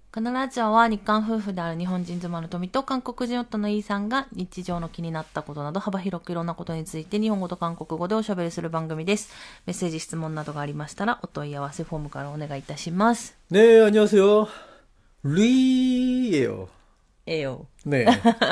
このラジオは日韓夫婦である日本人妻の富と韓国人夫のイーさんが日常の気になったことなど幅広くいろんなことについて日本語と韓国語でおしゃべりする番組です。メッセージ質問などがありましたらお問い合わせフォームからお願いいたします。 네, 안녕하세요. 리예요. 에요. 네,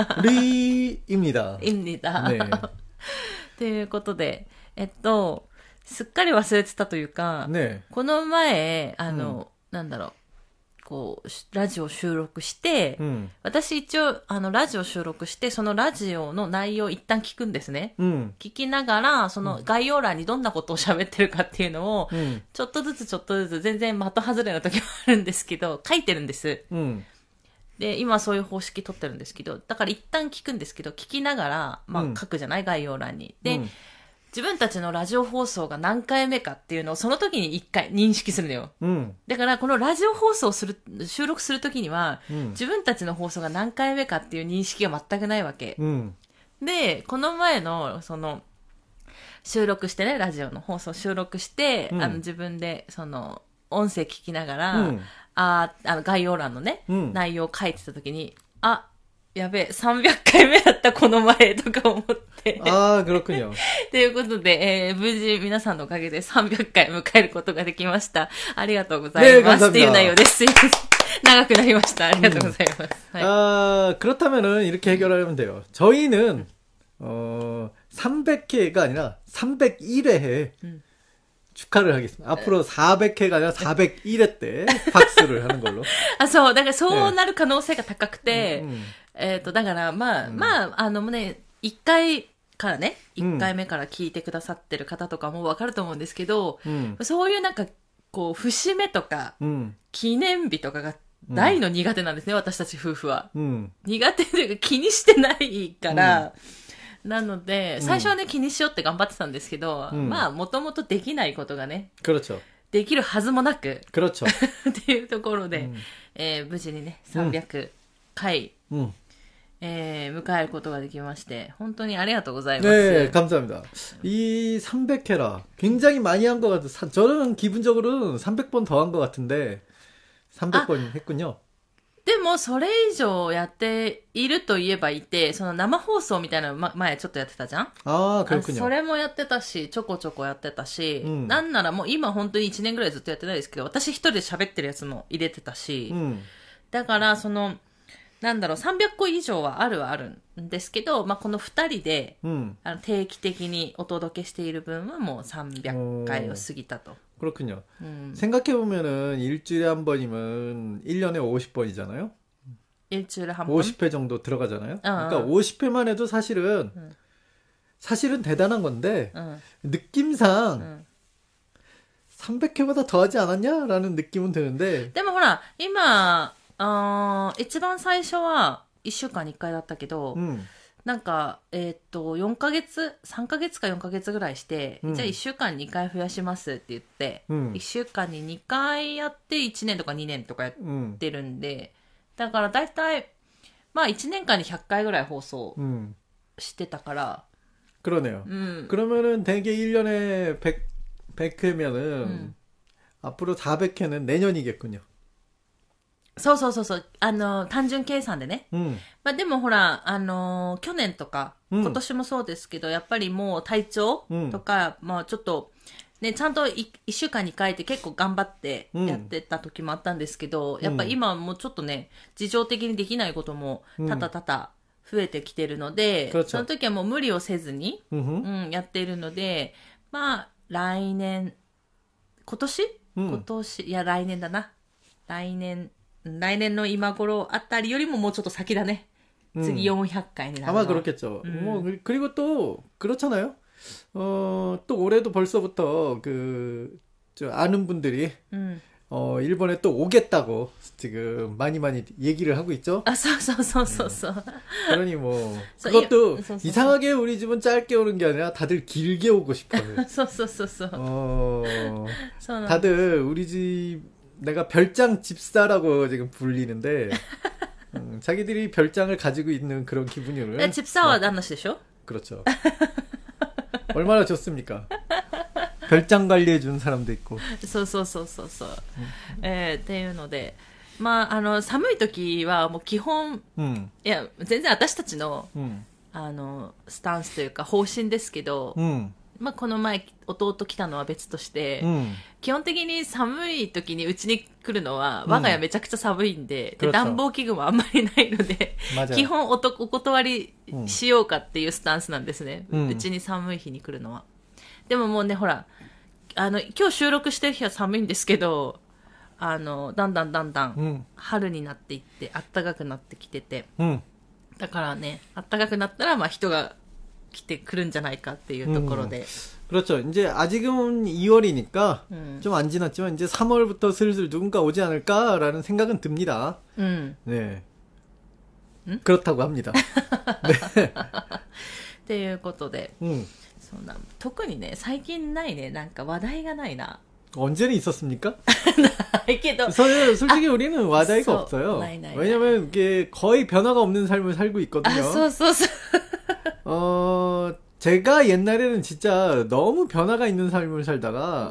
리입니다. 입니다. 네. ということで、すっかり忘れてたというか、 ね、 この前、なんだろう、こう、ラジオ収録して、私一応、ラジオ収録して、そのラジオの内容を一旦聞くんですね。聞きながら、その概要欄にどんなことを喋ってるかっていうのを、ちょっとずつ、全然的外れな時もあるんですけど、書いてるんです。で、今そういう方式取ってるんですけど、だから一旦聞くんですけど、聞きながら、書くじゃない、概要欄に。で、自分たちのラジオ放送が何回目かっていうのをその時に一回認識するのよ。だからこのラジオ放送収録する時には、自分たちの放送が何回目かっていう認識が全くないわけ。で、この前の収録してね、ラジオの放送収録して、自分で音声聞きながら、概要欄のね、内容を書いてた時に、やべえ、300回目だった、この前、とか思って。 그렇군요. ということで、無事皆さんのおかげで300回迎えることができました。ありがとうございます。っていう内容です。長くなりました。ありがとうございます。 그렇다면은 이렇게 해결하면 돼요. 저희는 300회가 아니라 301회 축하를 하겠습니다. 앞으로 400회가 아니라 401회 때 박수를 하는 걸로. そう、だからそうなる可能性が高くて、だからもうね、1回からね、1回目から聞いてくださってる方とかもわかると思うんですけど、そういうなんか、こう、節目とか、記念日とかが大の苦手なんですね、私たち夫婦は。苦手というか気にしてないから、なので、最初はね、気にしようって頑張ってたんですけど、もともとできないことがね、できるはずもなく、っていうところで、無事にね、300回、迎えることができまして、本当にありがとうございます。 네, 감사합니다. 이 300회라 굉장히 많이 한 것 같아요. 저는 기분적으로는 300번 더 한 것 같은데 300번 했군요. でも、それ以上やっていると言えばいて、その生放送みたいなの前ちょっとやってたじゃん 그렇군요. それもやってたし、ちょこちょこやってたし、なんならもう今本当に1年ぐらいずっとやってないですけど、私一人で喋ってるやつも入れてたし、だから300個以上はあるんですけど、この2人で、定期的にお届けしている分はもう300回を過ぎたと。 그렇군요. 생각해보면은 일주일에 한 번이면 1년에 50번이잖아요? 일주일에 한 번? 50회 정도 들어가잖아요? 그러니까 50회만 해도 사실은 대단한 건데, 느낌상 300회보다 더 하지 않았냐라는 느낌은 드는데. でもほら、今、一番最初は1週間に1回だったけど、なんか、4ヶ月 ?3 ヶ月か4ヶ月ぐらいして、じゃあ1週間に2回増やしますって言って、1週間に2回やって1年とか2年とかやってるんで、だからだいたい、1年間に100回ぐらい放送してたから。 그러네요. 그러면은 대개 1년에 100회면은 앞으로 400회는 내년이겠군요. そう。単純計算でね。でもほら、去年とか、今年もそうですけど、やっぱりもう体調とか、ちょっと、ね、ちゃんと1週間に書いて結構頑張ってやってた時もあったんですけど、やっぱ今もうちょっとね、事情的にできないことも多々増えてきてるので、その時はもう無理をせずに、やっているので、来年だな。来年の今頃あたりよりももうちょっと先だね。次400回になるの。 아마 그렇겠죠. 그리고 또 그렇잖아요. 또 올해도 벌써부터 아는 분들이 일본에 또 오겠다고 지금 많이 얘기를 하고 있죠. そう。 그러니 뭐 그것도 이상하게 우리 집은 짧게 오는 게 아니라 다들 길게 오고 싶어요. そう。 다들 우리 집 내가 별장 집사라고 지금 불리는데 자기들이 별장을 가지고 있는 그런 기분이에요. 집사와 나나시죠? 그렇죠. 얼마나 좋습니까? 별장 관리해 주는 사람도 있고. そう。っていうので、 まあ、寒い時はもう基本、いや、全然私たちの、スタンスというか方針ですけど、まあ、この前弟来たのは別として、基本的に寒い時にうちに来るのは、我が家めちゃくちゃ寒いんで、で暖房器具もあんまりないので、基本お断りしようかっていうスタンスなんですね。うちに寒い日に来るのは。でももうね、ほら、今日収録してる日は寒いんですけど、だんだん春になっていって暖かくなってきてて、だからね暖かくなったらまあ人が来てくるんじゃないかっていうところで、 그렇죠. 이제 아직은 2월이니까 좀 안 지났지만 이제 3월부터 슬슬 누군가 오지 않을까라는 생각은 듭니다. 네. 그렇다고 합니다. 네. っていうことで、そうな特にね最近ないねなんか話題がないな。 언제는 있었습니까? 솔직히 우리는 와다이가 없어요. 왜냐면 이게 거의 변화가 없는 삶을 살고 있거든요. 제가 옛날에는 진짜 너무 변화가 있는 삶을 살다가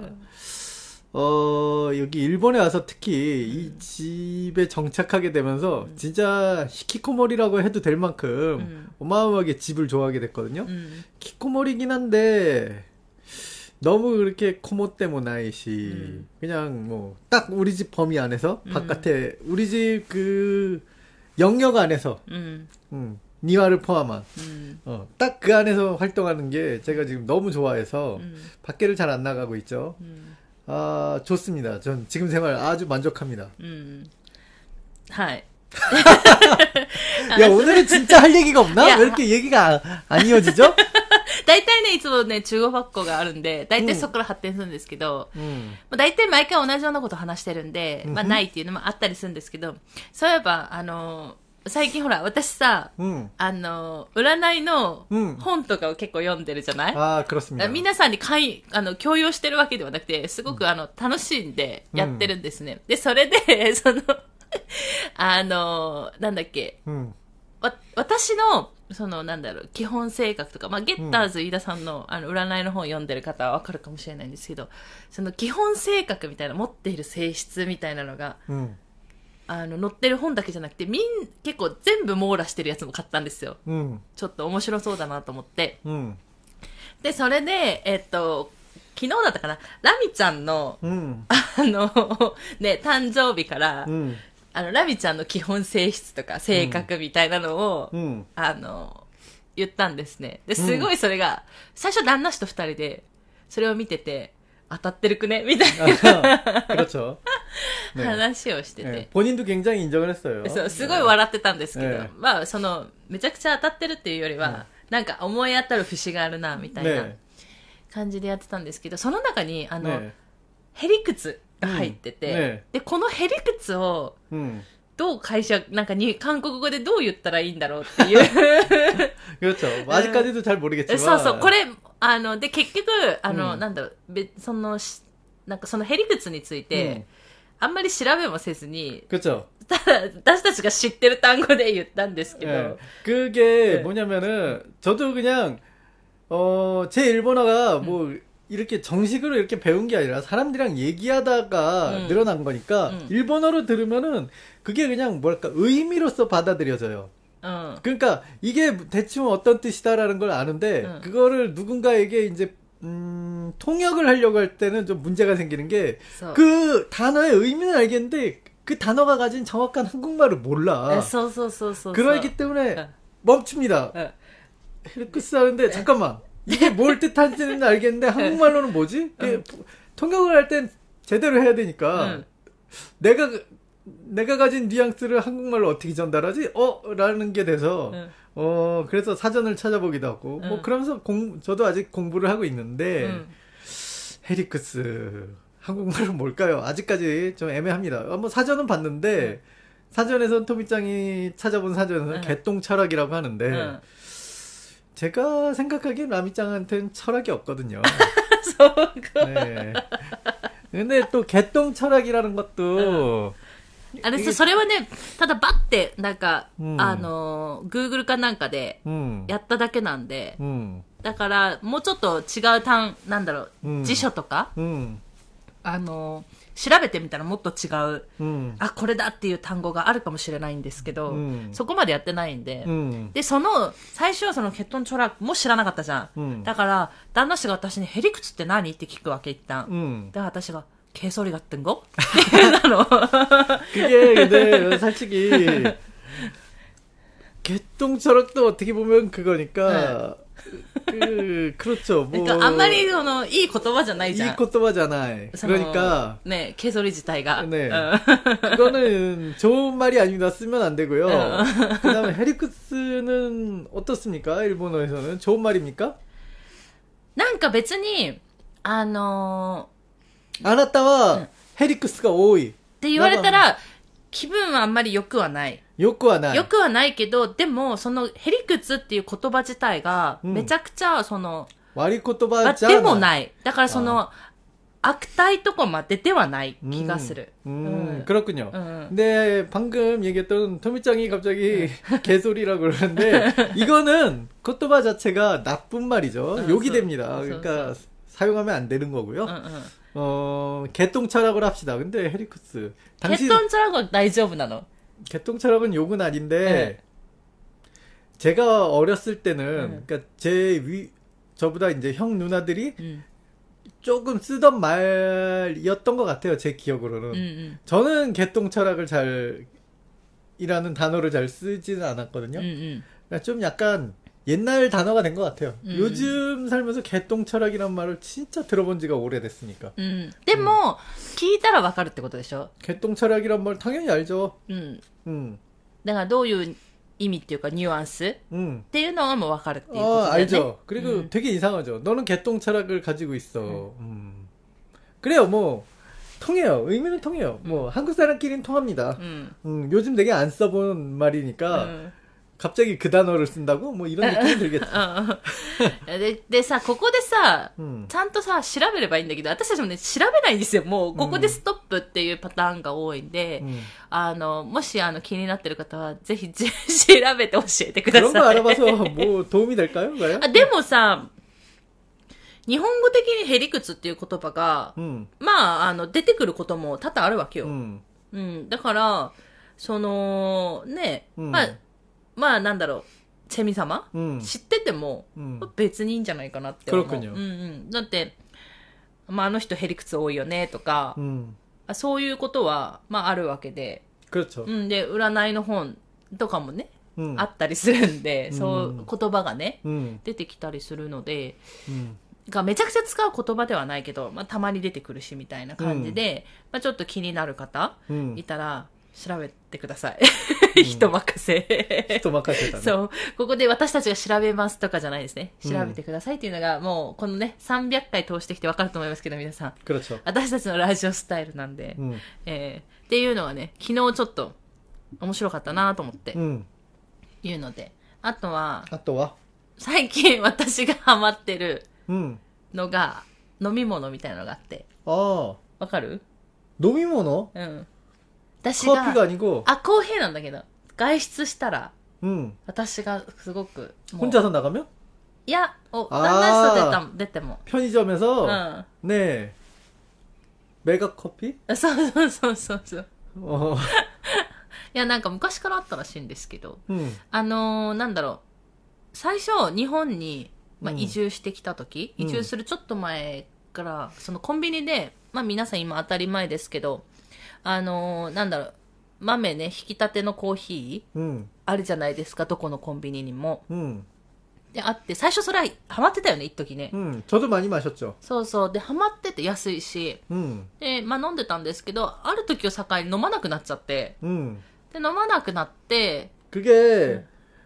여기 일본에 와서 특히 이 집에 정착하게 되면서 진짜 히키코모리라고 해도 될 만큼 어마어마하게 집을 좋아하게 됐거든요. 히키코모리긴 한데 너무 그렇게 코모 때문 나이시 그냥 뭐 딱 우리 집 범위 안에서 바깥에 우리 집 그 영역 안에서 니와를 포함한 딱 그 안에서 활동하는 게 제가 지금 너무 좋아해서 밖에를 잘 안 나가고 있죠. 아 좋습니다. 전 지금 생활 아주 만족합니다. はい。 야 오늘은 진짜 할 얘기가 없나? 왜 이렇게 얘기가 안 이어지죠? 大体ね、いつもね、中国学校があるんで、大体そこから発展するんですけど、まあ、大体毎回同じようなことを話してるんで、まあないっていうのもあったりするんですけど、そういえば、最近ほら、私さ、占いの本とかを結構読んでるじゃない？ ああ、그렇습니다。 皆さんに強要してるわけではなくて、すごく楽しんでやってるんですね。で、それで、なんだっけ、私の、なんだろう、基本性格とか、まあ、ゲッターズ飯田さんの、占いの本を読んでる方はわかるかもしれないんですけど、その基本性格みたいな、持っている性質みたいなのが、載ってる本だけじゃなくて、結構全部網羅してるやつも買ったんですよ。ちょっと面白そうだなと思って。で、それで、昨日だったかな、ラミちゃんの、ね、誕生日から、ラミちゃんの基本性質とか性格みたいなのを、言ったんですね。で、すごいそれが、最初旦那氏と二人で、それを見てて、当たってるくねみたいな。 그렇죠。 話をしてて。 본인도 굉장히 인정을 했어요。 そう、すごい笑ってたんですけど、まあ、めちゃくちゃ当たってるっていうよりは、なんか思い当たる節があるな、みたいな感じでやってたんですけど、その中に、へりくつが入ってて、で、このへりくつを、どうなんか韓国語でどう言ったらいいんだろうっていう。 그렇죠。아직까지도 잘 모르겠지만。 そうそう、これ、で、結局、なんだろう、なんかそのへりくつについて、あんまり調べもせずに、 그렇죠。 ただ、私たちが知ってる単語で言ったんですけど。 그게 뭐냐면은, 저도 그냥, 제 일본어가 뭐, 이렇게 정식으로 이렇게 배운 게 아니라 사람들이랑 얘기하다가 늘어난 거니까 일본어로 들으면은 그게 그냥 뭐랄까 의미로서 받아들여져요. 그러니까 이게 대충 어떤 뜻이다라는 걸 아는데 그거를 누군가에게 이제 통역을 하려고 할 때는 좀 문제가 생기는 게 그 단어의 의미는 알겠는데 그 단어가 가진 정확한 한국말을 몰라. 그러기 때문에 멈춥니다. 헤르크스 하는데 잠깐만. 이게 뭘 뜻하는지는 알겠는데 한국말로는 뭐지? 통역을 할 땐 제대로 해야 되니까 내가 가진 뉘앙스를 한국말로 어떻게 전달하지? 라는 게 돼서 그래서 사전을 찾아보기도 하고 뭐 그러면서 저도 아직 공부를 하고 있는데 헤리크스 한국말로 뭘까요? 아직까지 좀 애매합니다. 뭐 사전은 봤는데 사전에선 토미짱이 찾아본 사전에서는 개똥철학이라고 하는데 제가 생각하기엔 라미짱한테는 철학이 없거든요. 네. 근데 또 개똥 철학이라는 것도 それはね、ただバッて、なんか、Google かなんかで、やっただけなんで、だから、もうちょっと違うなんだろう、辞書とか、 調べてみたらもっと違う、あ、これだっていう単語があるかもしれないんですけど、そこまでやってないんで、で、最初はそのケトンチョラクも知らなかったじゃん。だから、旦那氏が私にヘリクツって何って聞くわけ、一旦。だから私が、개소리 같은 거? 그게 근데 솔직히 개똥철학도 어떻게 보면 그거니까 그렇죠. 뭐 그러니까 아무리 이 言葉じゃないじゃん. 이 言葉じゃない. 그러니까 네, 개소리 자체가. 네. 그거는 좋은 말이 아닙니다. 쓰면 안 되고요. 그다음에 헤리크스는 어떻습니까? 일본어에서는 좋은 말입니까? なんか別にあなたは、ヘリクスが多い。 って言われたら、気分はあんまり良くはない。 良くはない。 良くはないけど、でも、そのヘリクツっていう言葉自体が、めちゃくちゃ、 悪い言葉じゃない。 でもない。だから悪態とかまでではない気がする。 그렇군요. 근데 방금 얘기했던 토미짱이 갑자기 개소리라고 그러는데, 이거는言葉 자체가 나쁜 말이죠. 욕이 됩니다. 그러니까, 사용하면 안 되는 거고요. 개똥철학을 합시다. 근데 헤리크스 개똥철학은 大丈夫なの? 개똥철학은 욕은 아닌데 제가 어렸을 때는 그러니까 저보다 이제 형 누나들이 조금 쓰던 말이었던 것 같아요. 제 기억으로는. 저는 개똥철학을 이라는 단어를 잘 쓰지는 않았거든요. 그러니까 좀 약간 옛날 단어가 된 것 같아요. 요즘 살면서 개똥철학이란 말을 진짜 들어본 지가 오래됐으니까. でも、聞いたらわかるってことでしょ? 개똥철학이란 말 당연히 알죠. だからどういう意味っていうかニュアンスっていうのはもうわかるっていうことだよね. 알죠. 그리고 되게 이상하죠. 너는 개똥철학을 가지고 있어. 그래요. 뭐 통해요. 의미는 통해요. 뭐 한국 사람끼리는 통합니다. 요즘 되게 안 써본 말이니까 갑자기 그 단어를 쓴다고? 뭐 이런 느낌이 들겠죠. でさ、ここでさ、ちゃんとさ、調べればいいんだけど、私たちもね、調べないんですよ。もう、ここでストップっていうパターンが多いんで、もし気になってる方は、ぜひ調べて教えてください。 그런 거 알아봐서 뭐 도움이 될까요? でもさ、日本語的にヘリクツっていう言葉が、まあ、出てくることも多々あるわけよ。だから、ね、まあなんだろう、チェミ様、知ってても、別にいいんじゃないかなって思う。だって、まああの人ヘリクツ多いよねとか、そういうことは、まああるわけで。で、占いの本とかもね、あったりするんで、そう言葉がね、出てきたりするので、がめちゃくちゃ使う言葉ではないけど、まあたまに出てくるしみたいな感じで、まあちょっと気になる方いたら、調べてください。人任せ。 人任せだね。 そう。ここで私たちが調べますとかじゃないですね。調べてくださいっていうのが、もう、このね、300回通してきて分かると思いますけど、皆さん。私たちのラジオスタイルなんで。っていうのはね、昨日ちょっと面白かったなと思って。いうので。あとは、最近私がハマってるのが、飲み物みたいなのがあって。わかる？ 飲み物？ 私が 커피가 아니고 コーヒーなんだけど外出したら私がすごく 혼자서 나가면? いや旦那と出ても 편의점에서 네 메가 커피? そういやなんか昔からあったらしいんですけどなんだろう最初日本に移住してきた時移住するちょっと前からそのコンビニで皆さん今当たり前ですけどなんだろう、豆ね、引き立てのコーヒー、あるじゃないですか、どこのコンビニにも。で、あって、最初それはハマってたよね、一時ね。 저도 많이 마셨죠。 そうそう。で、ハマってて安いし、で、まあ飲んでたんですけど、ある時を境に飲まなくなっちゃって、で、飲まなくなって、 그게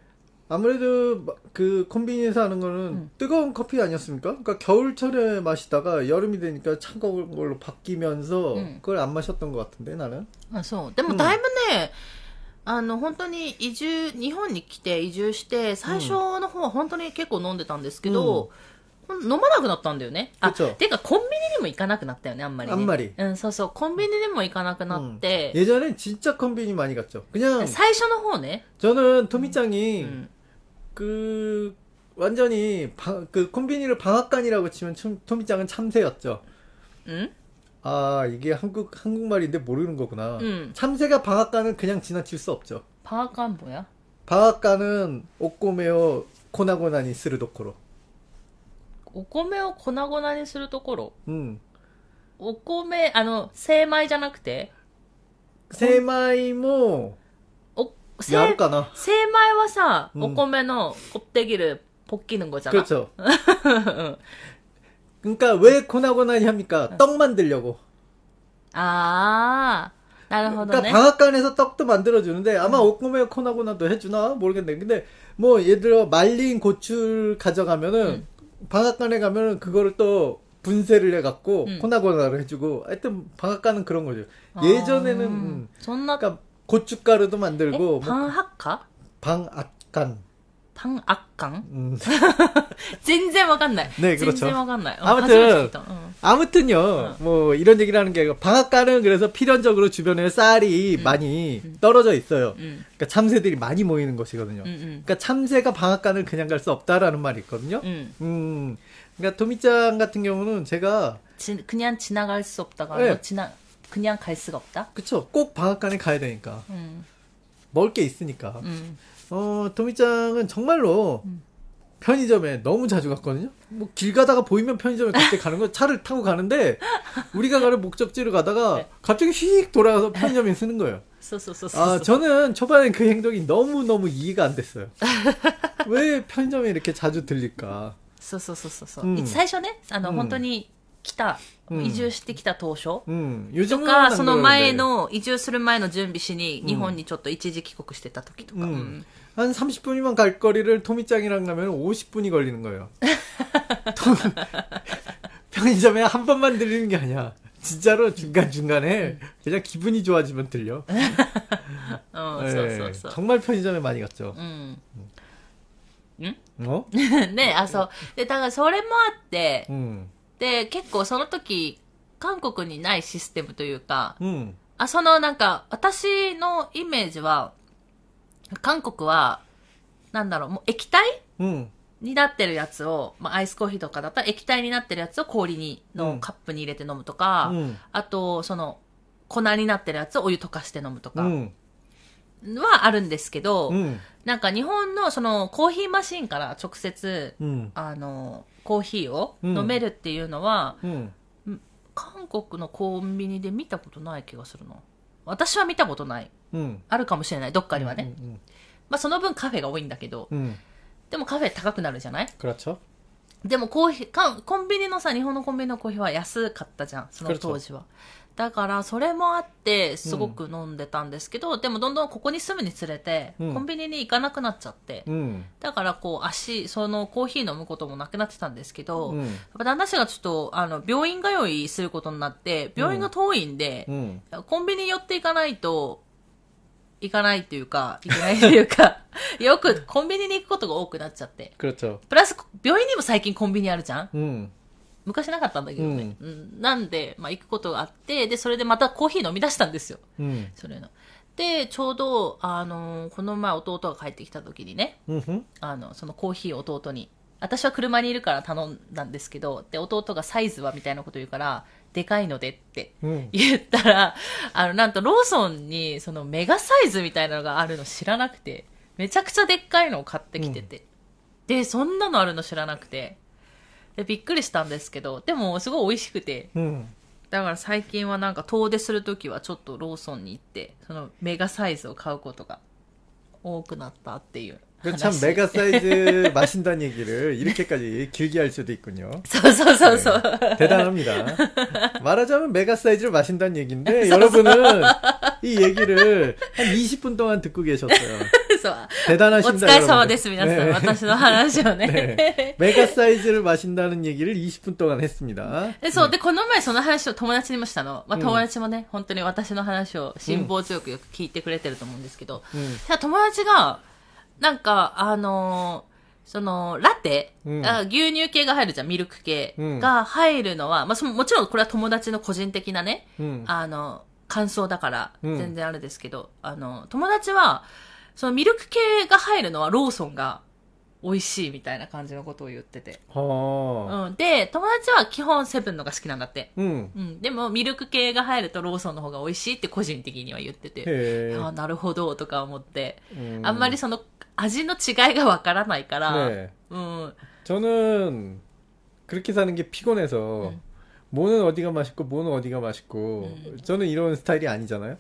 아무래도 그 콤비니에서 하는 거는 뜨거운 커피 아니었습니까? 그러니까 겨울철에 마시다가 여름이 되니까 차가운 걸로 바뀌면서 그걸 안 마셨던 것 같은데 나는. そう。でもだいぶね、本当に日本に来て移住して、最初の方は本当に結構飲んでたんですけど、飲まなくなったんだよね。てかコンビニにも行かなくなったよね、あんまりね。 あんまり。 そうそう、コンビニにも行かなくなって。 예전엔 진짜 콤비니 많이 갔죠. 그냥. 最初の方ね。 저는 토미짱이 완전히 그 콤비니를 방앗간이라고 치면 토미짱은 참새였죠. 아, 이게 한국말인데 모르는 거구나. 참새가 방앗간은 그냥 지나칠 수 없죠. 방앗간 뭐야? 방앗간은 오꼬메오 코나고나니するところ。 お米を粉々にするところ。お米、精米じゃなくて精米も、やるかな。 精米はさ、お米の껍데기를 벗기는 거잖아. 그렇죠. 그러니까 왜 코나고나니 합니까? 떡 만들려고. 아, なるほどね. 그러니까 방앗간에서 떡도 만들어주는데 아마 오코메 코나고나도 해주나 모르겠네. 근데 뭐 예를 들어 말린 고추를 가져가면은 방앗간에 가면은 그거를 또 분쇄를 해갖고 코나고나를 해주고 하여튼 방앗간은 그런 거죠. 예전에는 그러니까 고춧가루도 만들고 방앗간? 방앗간. 방앗간? 全然わかんない. 네, 그렇죠. 全然わかんない. 아무튼요, 뭐, 이런 얘기를 하는 게 아니고, 방앗간은 그래서 필연적으로 주변에 쌀이 많이 떨어져 있어요. 그러니까 참새들이 많이 모이는 곳이거든요. 그러니까 참새가 방앗간을 그냥 갈 수 없다라는 말이 있거든요. 그러니까 도미짱 같은 경우는 제가 그냥 지나갈 수 없다가 네. 그냥 갈 수가 없다? 그쵸. 꼭 방앗간에 가야 되니까. 먹을 게 있으니까. 도미짱은 정말로 편의점에 너무 자주 갔거든요. 뭐 길 가다가 보이면 편의점에 갑자기 가는 거 차를 타고 가는데 우리가 가는 목적지를 가다가 갑자기 휙 돌아가서 편의점에 쓰는 거예요. 저는 초반에 그 행동이 너무너무 이해가 안 됐어요. 왜 편의점에 이렇게 자주 들릴까? 最初ね、本当に来た、移住してきた当初とか、 その前の、移住する前の準備しに、日本にちょっと一時帰国してた時とか。 한 30분이면 갈 거리를 토미짱이랑 가면 50분이 걸리는 거예요. 편의점에 한 번만 들리는 게 아니야. 진짜로 중간중간에 그냥 기분이 좋아지면 들려. 네, 정말 편의점에 많이 갔죠. ね、そう。で、だからそれもあって、で、結構その時、韓国にないシステムというか、なんか、私のイメージは、韓国は、なんだろう、もう液体、になってるやつを、まあ、アイスコーヒーとかだったら液体になってるやつを氷のカップに入れて飲むとか、あと、粉になってるやつをお湯溶かして飲むとか、はあるんですけど、なんか日本のコーヒーマシンから直接、コーヒーを飲めるっていうのは、韓国のコンビニで見たことない気がするの。私は見たことない。あるかもしれない、どっかにはね。まあその分カフェが多いんだけど、でもカフェ高くなるじゃない？でもコンビニのさ、日本のコンビニのコーヒーは安かったじゃん、その当時は。だからそれもあってすごく飲んでたんですけど、でもどんどんここに住むにつれて、コンビニに行かなくなっちゃって、だからこうそのコーヒー飲むこともなくなってたんですけど、やっぱ旦那氏がちょっと病院通いすることになって、病院が遠いんで、コンビニ寄っていかないといけないっていうかよくコンビニに行くことが多くなっちゃって、プラス病院にも最近コンビニあるじゃん、昔なかったんだけどね。なんで、まあ、行くことがあって、で、それでまたコーヒー飲み出したんですよ。それの。で、ちょうど、この前弟が帰ってきた時にね、そのコーヒーを弟に、私は車にいるから頼んだんですけど、で、弟がサイズはみたいなこと言うから、でかいのでって言ったら、なんとローソンに、メガサイズみたいなのがあるの知らなくて、めちゃくちゃでっかいのを買ってきてて、で、そんなのあるの知らなくて、でびっくりしたんですけど、でもすごい美味しくて、だから最近はなんか遠出するときはちょっとローソンに行ってそのメガサイズを買うことが多くなったっていう。 참 메가 사이즈 마신다는 얘기를 이렇게까지 길게 할 수도 있군요. 대단합니다. 말하자면 메가 사이즈를 마신다는 얘기인데 여러분은 이 얘기를 한 20분 동안 듣고 계셨어요. 대단하십니다. お疲れ様です、皆さん。私の話をね。 메가 사이즈를 마신다는 얘기를 20분 동안 했습니다. そう、で、この前その話を友達にもしたの。まあ、友達もね、本当に私の話を辛抱強くよく聞いてくれてると思うんですけど、友達が、なんか、ラテ、牛乳系が入るじゃん、ミルク系が入るのは、まあ、もちろんこれは友達の個人的なね、感想だから、全然あれですけど、友達は、そのミルク系が入るのはローソンが美味しいみたいな感じのことを言ってて。 はあ。 うん。で、友達は基本セブンのが好きなんだって。 うん。 うん。でも、ミルク系が入るとローソンの方が美味しいって個人的には言ってて。 へああ、なるほど、とか思って。 あんまりその味の違いがわからないから。 네。 うん。 저는 그렇게 사는 게 피곤해서 뭐는 어디가 맛있고 뭐는 어디가 맛있고 저는 이런 스타일이 아니잖아요.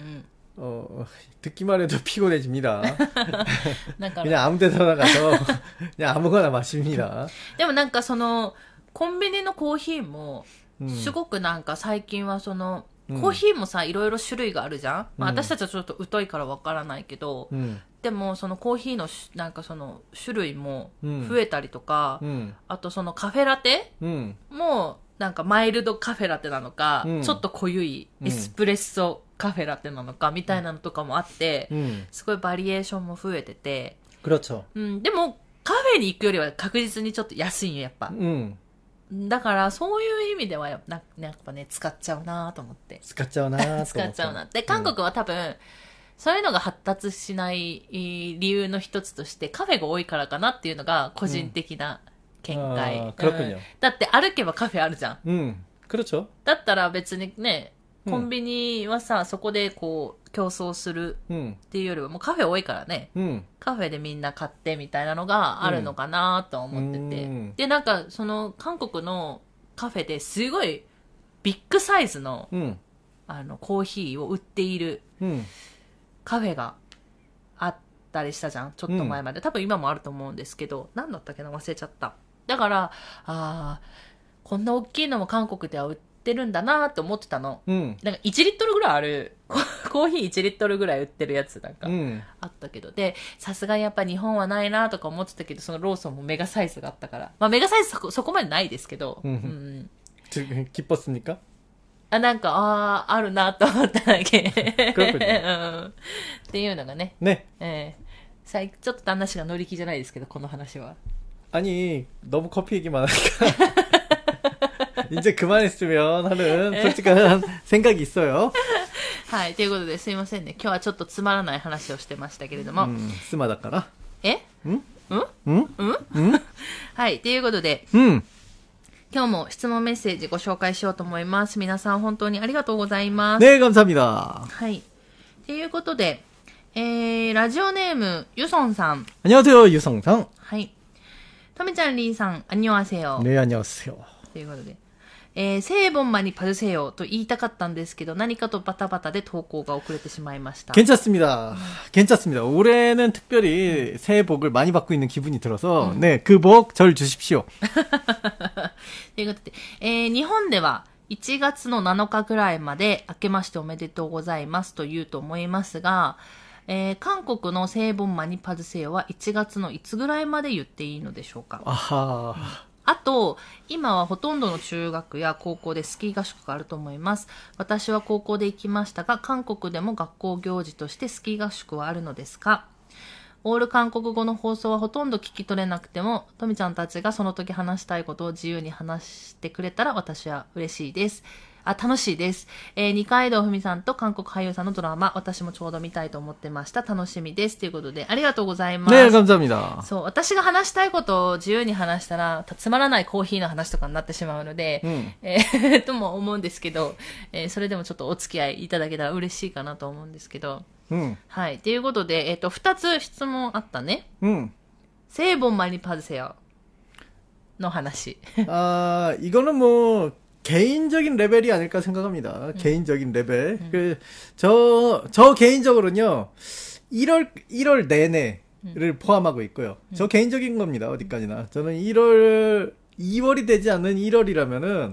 듣기만 해도 피곤해집니다. 그냥 아무 데서나 가서 그냥 아무거나 마십니다. でもなんかそのコンビニのコーヒーもすごくなんか最近はそのコーヒーもさいろいろ種類があるじゃん、まあ、私たちはちょっと疎いからわからないけど、でもそのコーヒーのなんかその種類も増えたりとか、あとそのカフェラテもなんかマイルドカフェラテなのか、ちょっと濃ゆいエスプレッソカフェラテなのかみたいなのとかもあって、すごいバリエーションも増えてて、 그렇죠。 でもカフェに行くよりは確実にちょっと安いんよやっぱ。だからそういう意味ではやっぱね使っちゃうなと思って。 使っちゃうな使っちゃうな。で韓国は多分、そういうのが発達しない理由の一つとしてカフェが多いからかなっていうのが個人的な見解。だって歩けばカフェあるじゃん。 그렇죠。 だったら別にね、コンビニはさ、そこでこう競争するっていうよりはもうカフェ多いからね、カフェでみんな買ってみたいなのがあるのかなと思ってて、でなんかその韓国のカフェですごいビッグサイズの、コーヒーを売っているカフェがあったりしたじゃん、ちょっと前まで。多分今もあると思うんですけど、何だったっけな、忘れちゃった。だからこんな大きいのも韓国では売ってるんだなって思ってたの。なんか1リットルぐらいあるコーヒー1リットルぐらい売ってるやつなんかあったけど、でさすがにやっぱ日本はないなとか思ってたけど、そのローソンもメガサイズがあったから、まあメガサイズそこまでないですけど、 기뻤습니까？ なんかあるなと思っただけっていうのがね。ちょっと話が乗り気じゃないですけど、この話は。 아니 너무 커피 얘기만 하니까 이제 그만했으면 하는 솔직한 생각이 있어요. はい、ということですいませんね。今日はちょっとつまらない話をしてましたけれども。 スマだから。 はい、ということで、今日も質問メッセージご紹介しようと思います。皆さん本当にありがとうございます。 ね、감사합니다。 はい。ということで、ラジオネームユソンさん。 안녕하세요、ユソンさん。 はい。トミちゃん、リンさん、안녕하세요。 ね、안녕하세요。 ということで、새해 복 많이 받으세요と言いたかったんですけど、何かとバタバタで投稿が遅れてしまいました。 괜찮습니다. 괜찮습니다. 올해는 특별히 새해 복을 많이 받고 있는 기분이 들어서, 네, 그 복 절 주십시오. ということで、日本では1月の7日ぐらいまで明けましておめでとうございますと言うと思いますが、韓国の聖本マニパズセヨは1月のいつぐらいまで言っていいのでしょうか。あと、今はほとんどの中学や高校でスキー合宿があると思います。私は高校で行きましたが、韓国でも学校行事としてスキー合宿はあるのですか？オール韓国語の放送はほとんど聞き取れなくても、トミちゃんたちがその時話したいことを自由に話してくれたら私は嬉しいです。楽しいです。二階堂ふみさんと韓国俳優さんのドラマ、私もちょうど見たいと思ってました。楽しみです。ということで、ありがとうございます。 ね、감사합니다。 そう、私が話したいことを自由に話したら、つまらないコーヒーの話とかになってしまうので、とも思うんですけど、それでもちょっとお付き合いいただけたら嬉しいかなと思うんですけど、はい。ということで、2つ質問あったね。聖本マニパズセヨの話。 이거는 뭐 개인적인 레벨이 아닐까 생각합니다. 개인적인 레벨. 저 개인적으로는요, 1월 내내를 포함하고 있고요. 저 개인적인 겁니다. 어디까지나. 저는 2월이 되지 않는 1월이라면은,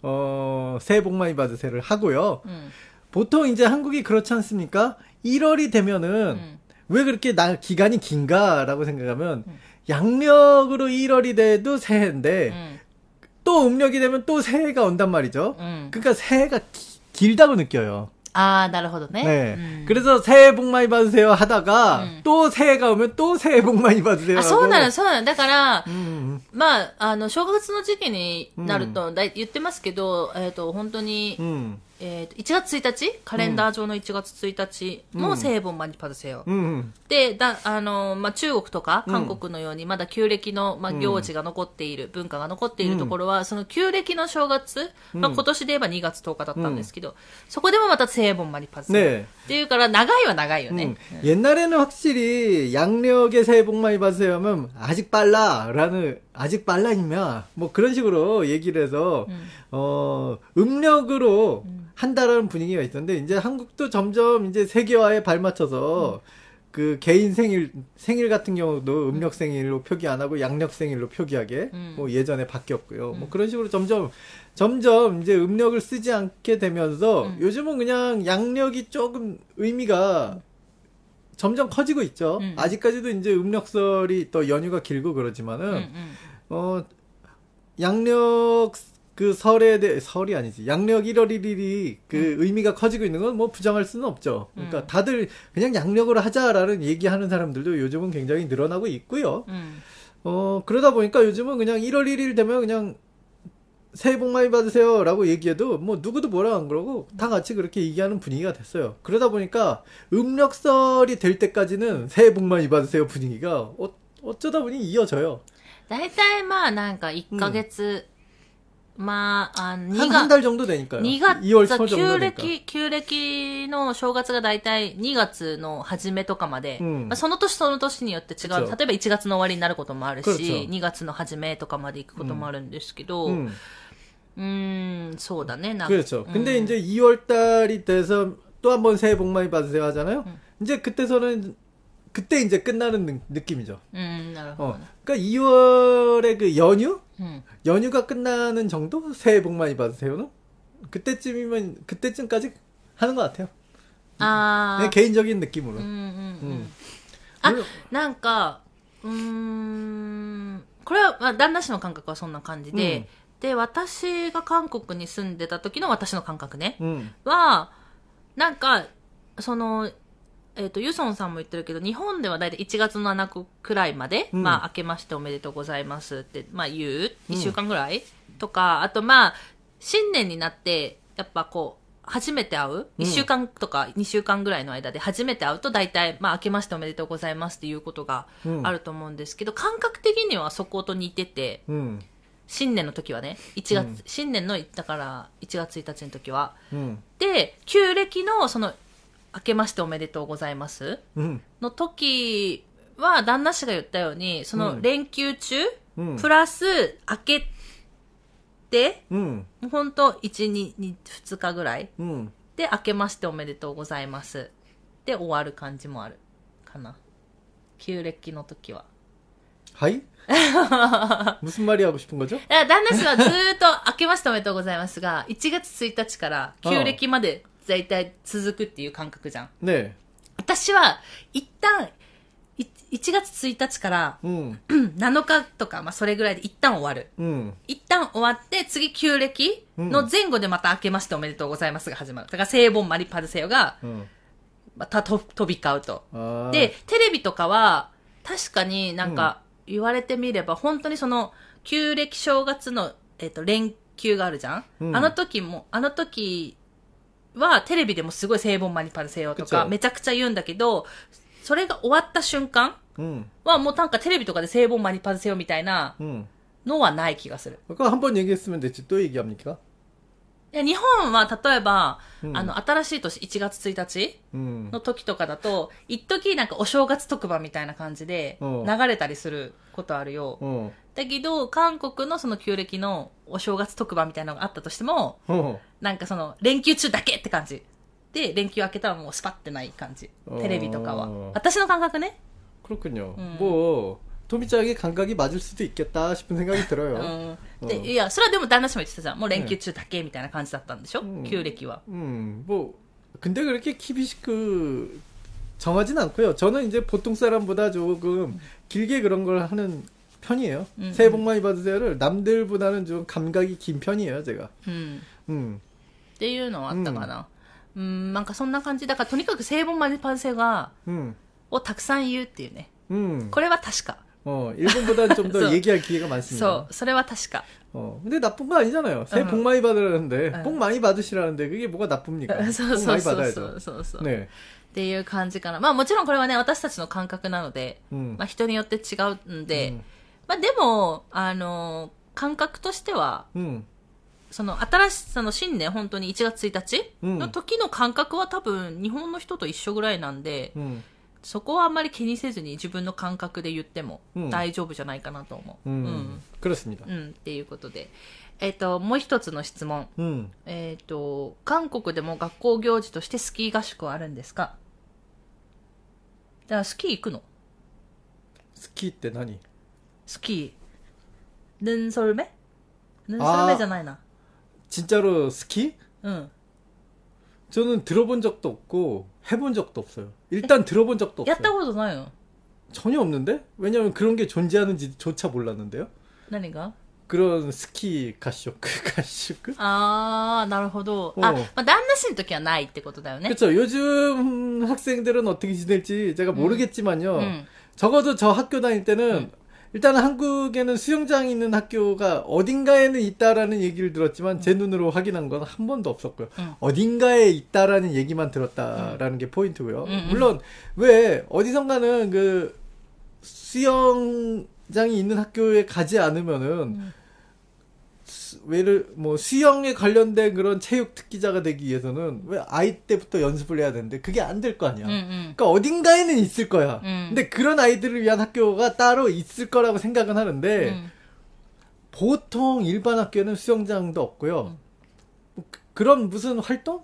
새해 복 많이 받으세요를 하고요. 보통 이제 한국이 그렇지 않습니까? 1월이 되면은, 왜 그렇게 기간이 긴가라고 생각하면, 양력으로 1월이 돼도 새해인데, 또 음력이 되면 또 새해가 온단 말이죠. 그러니까 새해가 길다고 느껴요. なるほどね。 네. 그래서 새해 복 많이 받으세요 하다가 또 새해가 오면 또 새해 복 많이 받으세요. そうなの、そうなの。だから、まあ、正月の時期になると、言ってますけど、本当に、 1月1日カレンダー上の1月1日も聖本マニパルセヨ。で、中国とか韓国のようにまだ旧暦の、行事が残っている、文化が残っているところは、その旧暦の正月、今年で言えば2月10日だったんですけど、そこでもまた聖本マニパルセヨ。っていうから長いは長いよね。 옛날에는 확실히 양력의 새해 복 많이 받으세요 하면 아직 빨라이면 뭐 그런 식으로 얘기를 해서 음력으로 한다라는 분위기가 있었는데 이제 한국도 점점 이제 세계화에 발맞춰서 그 개인 생일 같은 경우도 음력 생일로 표기 안 하고 양력 생일로 표기하게 뭐 예전에 바뀌었고요. 뭐 그런 식으로 점점 이제 음력을 쓰지 않게 되면서 요즘은 그냥 양력이 조금 의미가 점점 커지고 있죠. 아직까지도 이제 음력설이 또 연휴가 길고 그러지만은 양력 그 설이 아니지. 양력 1월 1일이 그 의미가 커지고 있는 건 뭐 부정할 수는 없죠. 그러니까 다들 그냥 양력으로 하자라는 얘기하는 사람들도 요즘은 굉장히 늘어나고 있고요. 그러다 보니까 요즘은 그냥 1월 1일 되면 그냥 새해 복 많이 받으세요라고 얘기해도 뭐 누구도 뭐라 안 그러고 다 같이 그렇게 얘기하는 분위기가 됐어요. 그러다 보니까 음력설이 될 때까지는 새해 복 많이 받으세요 분위기가 어쩌다 보니 이어져요. 大体まあなんか1ヶ月、 한 달 정도 되니까요. 2月、 2월 초 정도 되니까. 旧暦の正月がだいたい2月の初めとかまで、その年その年によって違う。例えば1月の終わりになることもあるし、2月の初めとかまで行くこともあるんですけど、そうだね。 그렇죠. 근데 이제 2월 달이 돼서 또 한 번 새해 복 많이 받으세요 하잖아요. 이제 그때 이제 끝나는 느낌이죠. 그러니까 2월의 그 연휴가 끝나는 정도? 새해 복 많이 받으세요는? 그때쯤까지 하는 것 같아요. 내 개인적인 느낌으로. なんか、これは、旦那氏の感覚はそんな感じで、で、私が韓国に住んでた時の私の感覚ね、は、なんか、ユソンさんも言ってるけど、日本ではだいたい1月の7日くらいまで、明けましておめでとうございますって、言う ?1 週間ぐらい、とか、あと新年になって、やっぱ初めて会う ?1 週間とか2週間ぐらいの間で初めて会うと、だいたい、明けましておめでとうございますっていうことがあると思うんですけど、感覚的にはそこと似てて、新年の時はね、新年の、だから1月1日の時は。で、旧暦の明けましておめでとうございますの時は、旦那氏が言ったように、その連休中、プラス明けて、ほんと1、2日ぐらい、で、明けましておめでとうございますで終わる感じもあるかな。旧暦の時は。 はい？무슨 말이 하고 싶은 거죠? 旦那氏はずーっと明けましておめでとうございますが、1月1日から旧暦まで大体続くっていう感覚じゃん。 ね。 私は一旦1月1日から、7日とか、それぐらいで一旦終わる。一旦終わって、次旧暦の前後でまた明けましておめでとうございますが始まる。だから聖本マリパルセヨが、また飛び交うと。で、テレビとかは、確かになんか言われてみれば、本当に旧暦正月の、連休があるじゃん、あの時はテレビでもすごい聖本マニパルセヨとかめちゃくちゃ言うんだけど、それが終わった瞬間はもうなんかテレビとかで聖本マニパルセヨみたいなのはない気がする。 한번 얘기했으면 됐지. 또 얘기합니까? いや、日本は例えば、新しい年1月1日の時とかだと、一時なんかお正月特番みたいな感じで流れたりすることあるよ。だけど、韓国のその旧暦のお正月特番みたいなのがあったとしても、なんか連休中だけって感じ。で、連休明けたらもうスパってない感じ。テレビとかは。私の感覚ね。 그렇군요. 뭐 토미짱의 감각이 맞을 수도 있겠다 싶은 생각이 들어요. で、いや、それはでも旦那氏も言ってたじゃん。もう連休中だけみたいな感じだったんでしょ、旧暦は。 뭐 근데 그렇게 키비시크 정하진 않고요. 저는 이제 보통 사람보다 조금 길게 그런 걸 하는 편이에요. 새해 복 많이 받으세요를 남들보다는 좀 감각이 긴 편이에요, 제가. っていうのはあったかな。なんかそんな感じ。だからとにかく聖本マニパルセヨをたくさん言うっていうね。これは確か。 일본보다는 좀 더 얘기할 기회가 많습니다. それは確か. 근데 나쁜 거 아니잖아요. 새해 복 많이 받으라는데, 복 많이 받으시라는데, 그게 뭐가 나쁩니까? 복 많이 받아야죠. 네. っていう感じかな。まあもちろんこれはね、私たちの感覚なので、まあ人によって違うんで、まあでも、感覚としては、その新しさの新年本当に1月1日の時の感覚は多分日本の人と一緒ぐらいなんで、そこはあんまり気にせずに自分の感覚で言っても大丈夫じゃないかなと思う。 그렇습니다. っていうことで。もう一つの質問。韓国でも学校行事としてスキー合宿はあるんですか？だからスキー行くの？ スキーって何？ スキー。눈썰매？눈썰매じゃないな。 진짜로 스키? 응. 저는 들어본 적도 없고 해본 적도 없어요. 일단 들어본 적도 없어요. やったことないよ。 전혀 없는데? 왜냐면 그런 게 존재하는지조차 몰랐는데요. 何が? 그런 스키 가쇼크. 아, なるほど. 아, 旦那氏の時はないってことだよね. 그렇죠. 요즘 학생들은 어떻게 지낼지 제가 모르겠지만요. 적어도 저 학교 다닐 때는 일단 한국에는 수영장이 있는 학교가 어딘가에는 있다라는 얘기를 들었지만 제 눈으로 확인한 건 한 번도 없었고요. 어딘가에 있다라는 얘기만 들었다라는 게 포인트고요. 물론 왜 어디선가는 그 수영장이 있는 학교에 가지 않으면은 뭐 수영에 관련된 그런 체육 특기자가 되기 위해서는 왜 아이 때부터 연습을 해야 되는데 그게 안 될 거 아니야. 그러니까 어딘가에는 있을 거야. 근데 그런 아이들을 위한 학교가 따로 있을 거라고 생각은 하는데 보통 일반 학교는 수영장도 없고요. 그런 무슨 활동?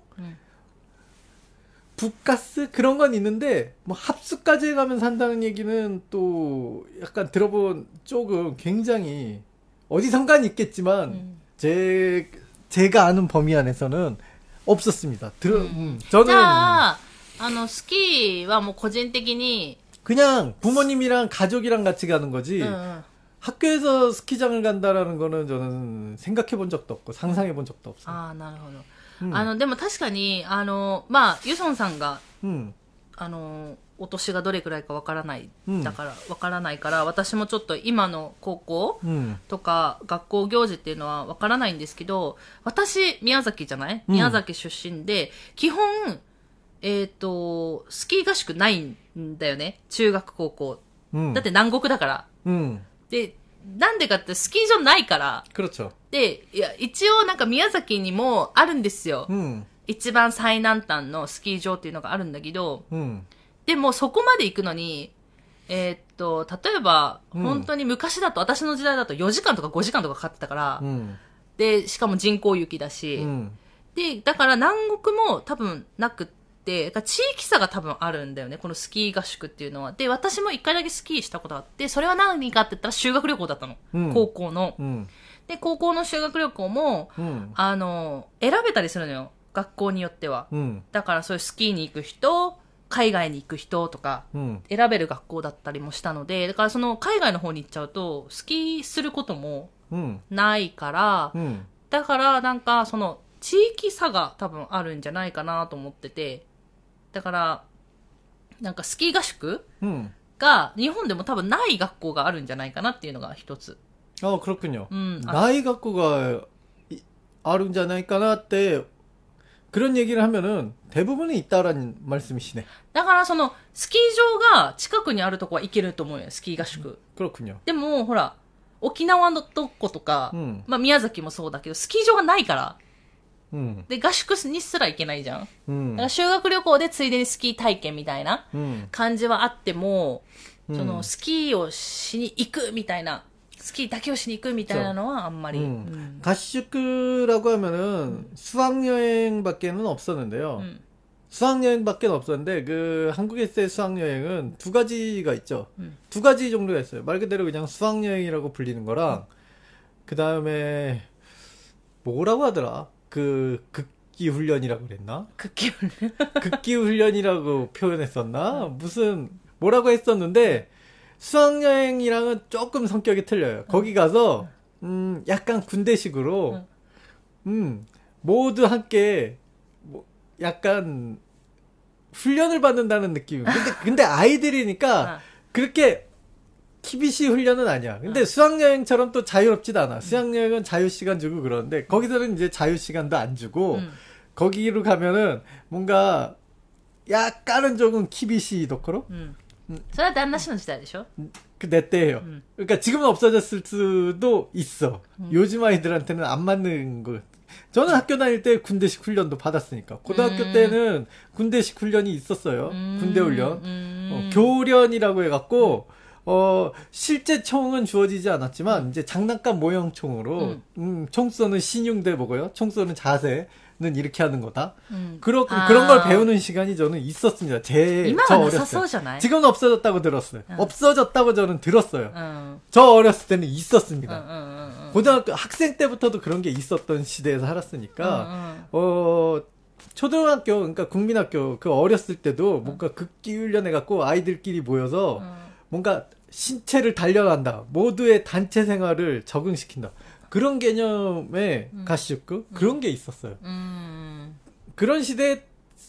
북가스 그런 건 있는데 뭐 합숙까지 가면 산다는 얘기는 또 약간 들어본 쪽은 굉장히 어디선간 있겠지만 제가 아는 범위 안에서는 없었습니다. 저는 じゃあスキーはもう個人的に 그냥 부모님이랑 가족이랑 같이 가는 거지. 학교에서 스키장을 간다라는 거는 저는 생각해 본 적도 없고 상상해 본 적도 없어요. 아, なるほど。でも確かにまあユソンさんがお年がどれくらいかわからない、だからわからないから私もちょっと今の高校とか学校行事っていうのはわからないんですけど、私宮崎じゃない？宮崎出身で基本スキー合宿ないんだよね、中学高校。だって南国だから。でなんでかってスキー場ないから。 그렇죠。 でいや一応なんか宮崎にもあるんですよ。一番最南端のスキー場っていうのがあるんだけど。でもそこまで行くのに、例えば、本当に昔だと、私の時代だと4時間とか5時間とかかかってたから、で、しかも人工雪だし、で、だから南国も多分なくって、地域差が多分あるんだよね、このスキー合宿っていうのは。で、私も一回だけスキーしたことがあって、それは何かって言ったら修学旅行だったの。高校の。で、高校の修学旅行も、選べたりするのよ。学校によっては。だからそういうスキーに行く人、海外に行く人とか選べる学校だったりもしたので、だからその海外の方に行っちゃうとスキーすることもないから、だからなんかその地域差が多分あるんじゃないかなと思ってて、だからなんかスキー合宿が日本でも多分ない学校があるんじゃないかなっていうのが一つ。 あ、그렇군요。ない学校があるんじゃないかなって그런 얘기를 하면은 대부분은 있다라는 말씀이시네. だからそのスキー場が近くにあるとこは行けると思うよ、スキー合宿。 그렇군요。 でもほら沖縄のとことか、まあ宮崎もそうだけどスキー場がないから。で合宿にすら行けないじゃん。だから修学旅行でついでにスキー体験みたいな感じはあっても、そのスキーをしに行くみたいな。スキーだけをしに行くみたいなのはあんまり。 合宿라고 하면은 수학여행밖에는 없었는데요. 수학여행밖에 없었는데 그 한국에서의 수학여행은 두 가지가 있죠. 두 가지 종류가 있어요. 말 그대로 그냥 수학여행이라고 불리는 거랑 그 다음에 뭐라고 하더라? 그 극기훈련이라고 그랬나? 극기훈련? 극기훈련이라고 표현했었나? 무슨 뭐라고 했었는데 수학여행이랑은 조금 성격이 틀려요. 거기 가서 약간 군대식으로 모두 함께 뭐 약간 훈련을 받는다는 느낌. 근데 아이들이니까 그렇게 키비시 훈련은 아니야. 근데 수학여행처럼 또 자유롭지도 않아. 수학여행은 자유시간 주고 그러는데, 거기서는 이제 자유시간도 안 주고, 거기로 가면은 뭔가, 약간은 조금 키비시 도코로? それは旦那氏の時代でしょ? 내 때예요. 그러니까 지금은 없어졌을 수도 있어. 요즘 아이들한테는 안 맞는 거. 저는 학교 다닐 때 군대식 훈련도 받았으니까. 고등학교 때는 군대식 훈련이 있었어요. 군대 훈련. 교련이라고 해갖고, 실제 총은 주어지지 않았지만, 이제 장난감 모형 총으로, 총 쏘는 신용대 뭐고요? 총 쏘는 자세는 이렇게 하는 거다. 그런 걸 배우는 시간이 저는 있었습니다. 저 어렸을 때. 지금은 없어졌다고 들었어요. 없어졌다고 저는 들었어요. 저 어렸을 때는 있었습니다. 고등학교 학생 때부터도 그런 게 있었던 시대에서 살았으니까, 초등학교, 그러니까 국민학교, 그 어렸을 때도 뭔가 극기 훈련해갖고 아이들끼리 모여서 뭔가 신체를 단련한다. 모두의 단체 생활을 적응시킨다. 그런 개념의 가시적구? 그런 게 있었어요. 그런 시대에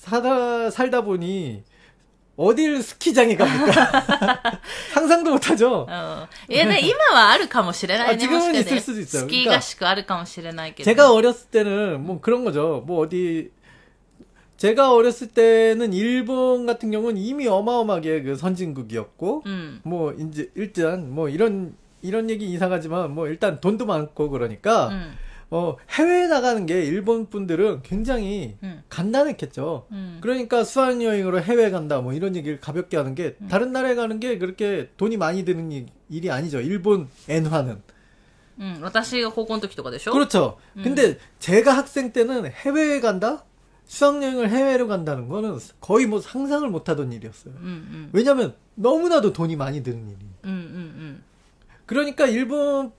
살다 보니, 어딜 스키장에 갑니까? 상상도 못하죠. いやね、今はあるかもしれないね。 지금은 있을 수도 있어요. スキー合宿あるかもしれないけど。 제가 어렸을 때는 뭐 그런 거죠. 뭐 어디 제가 어렸을 때는 일본 같은 경우는 이미 어마어마하게 그 선진국이었고, 뭐 이제 일단 뭐 이런 얘기 이상하지만 뭐 일단 돈도 많고 그러니까. 해외에 나가는 게 일본 분들은 굉장히 간단했겠죠. 그러니까 수학여행으로 해외 간다, 뭐 이런 얘기를 가볍게 하는 게, 다른 나라에 가는 게 그렇게 돈이 많이 드는 일이 아니죠. 일본 엔화는. 私が高校の時とかでしょ? 그렇죠. 근데 제가 학생 때는 해외에 간다? 수학여행을 해외로 간다는 거는 거의 뭐 상상을 못 하던 일이었어요. 왜냐면 너무나도 돈이 많이 드는 일이니까. 그러니까 일본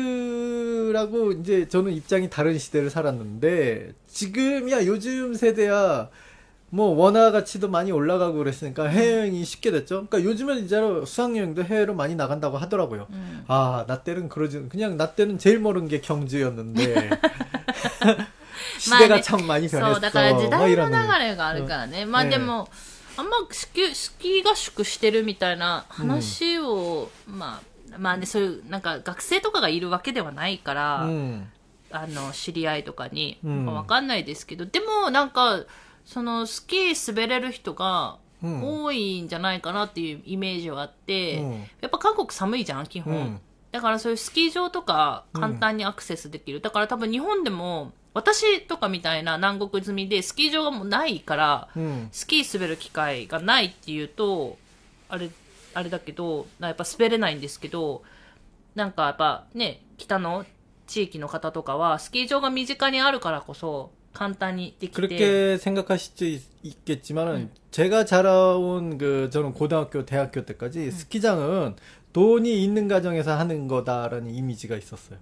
분들하고 이제 저는 입장이 다른 시대를 살았는데, 지금이야 요즘 세대야 뭐 원화 가치도 많이 올라가고 그랬으니까 해외여행이 쉽게 됐죠. 그러니까 요즘은 진짜로 수학여행도 해외로 많이 나간다고 하더라고요. 아, 나 때는 그러지, 그냥 나 때는 제일 모르는 게 경주였는데 시대가 참 많이 변했어. そう、だから時代の流れがあるからね。まあでも、あんまスキー合宿してるみたいな話を、まあね、そういうなんか学生とかがいるわけではないから、知り合いとかにわかんないですけど、でもなんかそのスキー滑れる人が多いんじゃないかなっていうイメージはあって、やっぱ韓国寒いじゃん基本、だからそういうスキー場とか簡単にアクセスできる、だから多分日本でも私とかみたいな南国済みでスキー場がもうないから、スキー滑る機会がないっていうとあれだけど、やっぱ滑れないんですけど、なんかやっぱね、北の地域の方とかはスキー場が身近にあるからこそ簡単にできて。 그렇게 생각하실 수 있겠지만은, 제가 자라온 저는 고등학교, 대학교 때까지 스키장은 돈이 있는 가정에서 하는 거다라는 이미지가 있었어요.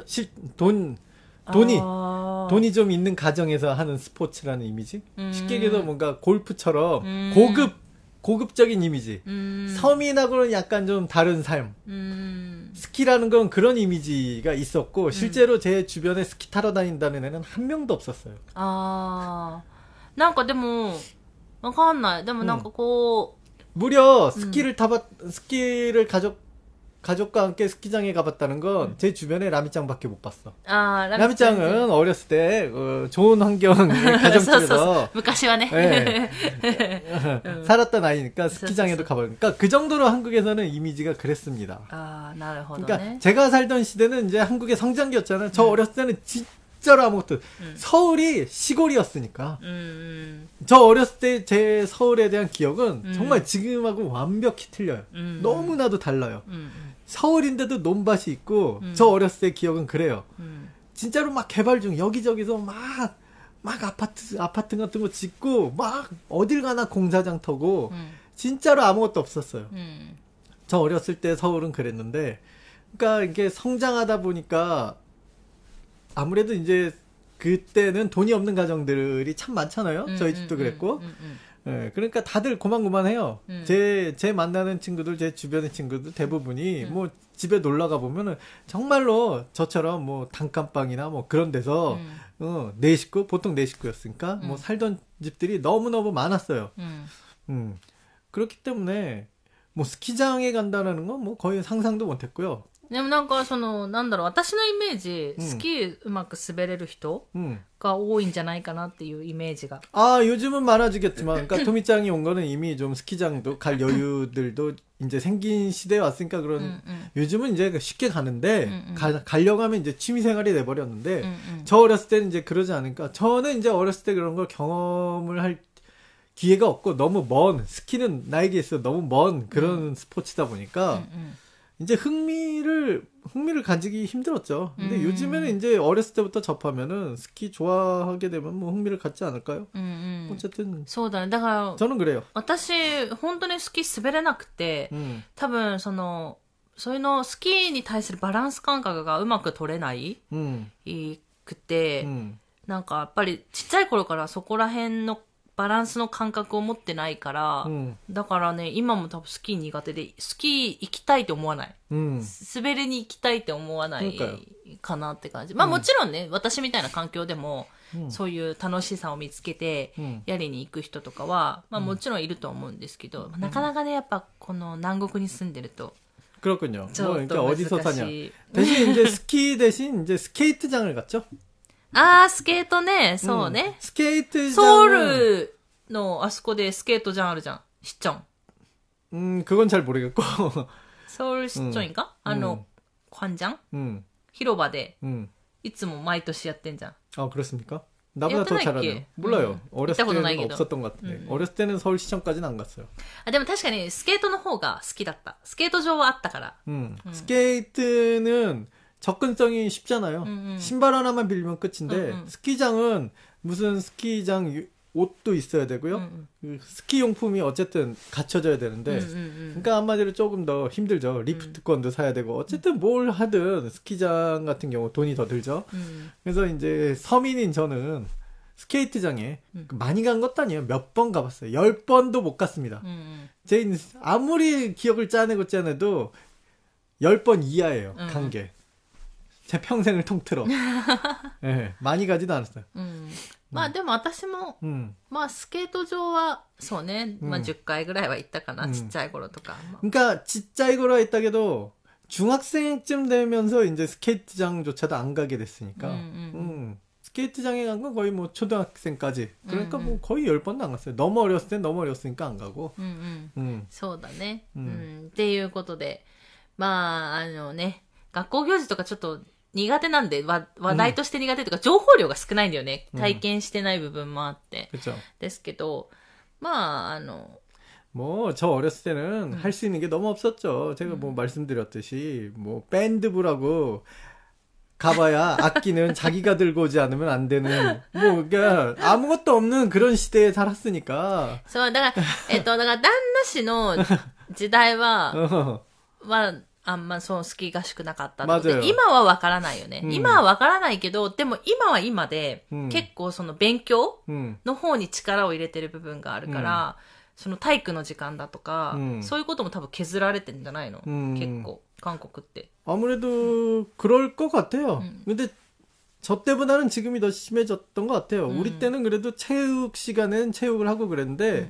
돈이 좀 있는 가정에서 하는 스포츠라는 이미지? 쉽게 얘기해서 뭔가 골프처럼 고급적인 이미지. 서민하고는 약간 좀 다른 삶. 스키라는 건 그런 이미지가 있었고, 실제로 제 주변에 스키 타러 다닌다는 애는 한 명도 없었어요. なんかでも、わかんない。でもなんかこう、 무려 스키를 가족과 함께 스키장에 가봤다는 건 제 주변에 라미짱밖에 못 봤어. 라미짱은 어렸을 때 좋은 환경의 가정집에서 昔はね 살았던 아이니까 스키장에도 가보니까 그 정도로 한국에서는 이미지가 그랬습니다. 그러니까 제가 살던 시대는 이제 한국의 성장기였잖아요. 저 어렸을 때는 진짜로 아무것도, 서울이 시골이었으니까. 저 어렸을 때 제 서울에 대한 기억은 정말 지금하고 완벽히 틀려요. 너무나도 달라요. 서울인데도 논밭이 있고, 저 어렸을 때 기억은 그래요. 진짜로 막 개발 중, 여기저기서 막 아파트 같은 거 짓고, 막 어딜 가나 공사장 터고, 진짜로 아무것도 없었어요. 저 어렸을 때 서울은 그랬는데, 그러니까 이게 성장하다 보니까 아무래도 이제 그때는 돈이 없는 가정들이 참 많잖아요. 저희 집도 그랬고. 예, 그러니까 다들 고만고만해요. 제 만나는 친구들, 제 주변의 친구들 대부분이 뭐 집에 놀러 가 보면은 정말로 저처럼 뭐 단칸방이나 뭐 그런 데서 네 식구, 보통 네 식구였으니까 뭐 살던 집들이 너무너무 많았어요. 그렇기 때문에 뭐 스키장에 간다는 건 뭐 거의 상상도 못했고요. でもなんかなんだろう、私のイメージ、スキーうまく滑れる人が多いんじゃないかなっていうイメージが。 요즘은 많아지겠지만, 그러니까 토미짱이 온 거는 이미 좀 스키장도 갈 여유들도 이제 생긴 시대에 왔으니까 그런, 요즘은 이제 쉽게 가는데, 가려고 하면 이제 취미생활이 돼버렸는데, 저 어렸을 때는 이제 그러지 않으니까, 저는 이제 어렸을 때 그런 걸 경험을 할 기회가 없고, 너무 스키는 나에게 있어 너무 먼 그런 스포츠다 보니까, 이제 흥미를 가지기 힘들었죠. 근데 요즘에는 이제 어렸을 때부터 접하면은 스키 좋아하게 되면 뭐 흥미를 갖지 않을까요? 어쨌든. そうだね。だから、 저는 그래요. 私、本当にスキー滑れなくて、多分そういうのスキーに対するバランス感覚がうまく取れない、くて、なんかやっぱりちっちゃい頃からそこら辺のバランスの感覚を持ってないから、だからね、今も多分スキー苦手で、スキー行きたいと思わない。滑りに行きたいって思わないかなって感じ。まあもちろんね、私みたいな環境でも、そういう楽しさを見つけて、やりに行く人とかは、まあもちろんいると思うんですけど、なかなかね、やっぱこの南国に住んでると、 그렇군요. 뭐 그러니까 어디서 사냐. 대신 이제 스키 대신 이제 스케이트장을 갔죠. あー、スケートね、そうね。 スケート場ソウルのあそこでスケート場あるじゃん。シチョン。 그건 잘 모르겠고. ソウルシチョンか관장? 広場で、いつも毎年やってんじゃん。 아, 그렇습니까? 나보다 더 잘하네요. 몰라요. 어렸을 때는 없었던 것 같은데. 어렸을 때는 서울시청까지는 안 갔어요. あ、でも確かにスケートの方が好きだった。スケート場はあったから。 스케이트는 접근성이 쉽잖아요. 신발 하나만 빌리면 끝인데 스키장은 무슨 스키장 옷도 있어야 되고요. 스키 용품이 어쨌든 갖춰져야 되는데 그러니까 한마디로 조금 더 힘들죠. 리프트권도 사야 되고 어쨌든 뭘 하든 스키장 같은 경우 돈이 더 들죠. 그래서 이제 서민인 저는 스케이트장에 많이 간 것도 아니에요. 몇 번 가봤어요. 10번도 못 갔습니다. 제 아무리 기억을 짜내도 10번 이하예요. 간 게. 제 평생을 통틀어. 네, 많이 가지도 않았어요. まあでも私も、まあスケート場は、そうね、まあ10回ぐらいは行ったかな、ちっちゃい頃とか。 그러니까 찌짜이거로 했다게도 중학생쯤 되면서 이제 스케이트장조차도 안 가게 됐으니까. 스케이트장에 간 건 거의 뭐 초등학생까지. 그러니까 뭐 거의 10번도 안 갔어요. 너무 어렸을 땐 너무 어렸으니까 안 가고. そうだね。っていうことで、まあね、学校行事とかちょっと苦手なんで、話題として苦手とか、情報量が少ないんだよね。体験してない部分もあって。ですけど、まあ、 뭐, 저 어렸을 때는 할 수 있는 게 너무 없었죠. 제가 뭐 말씀드렸듯이, 뭐, 밴드부라고 가봐야 악기는 자기가 들고 오지 않으면 안 되는, 뭐, 그러니까 아무것도 없는 그런 시대에 살았으니까. そう、だから、だから旦那氏の時代は、あんまそうスキー合宿なかったので、今はわからないよね。今はわからないけど、でも今は今で、結構その勉強の方に力を入れてる部分があるから、その体育の時間だとか、そういうことも多分削られてるんじゃないの、結構、韓国って。 아무래도 그럴 것 같아요. 근데 저 때보다는 지금이 더 심해졌던 것 같아요. 우리 때는 그래도 체육 시간엔 체육을 하고 그랬는데,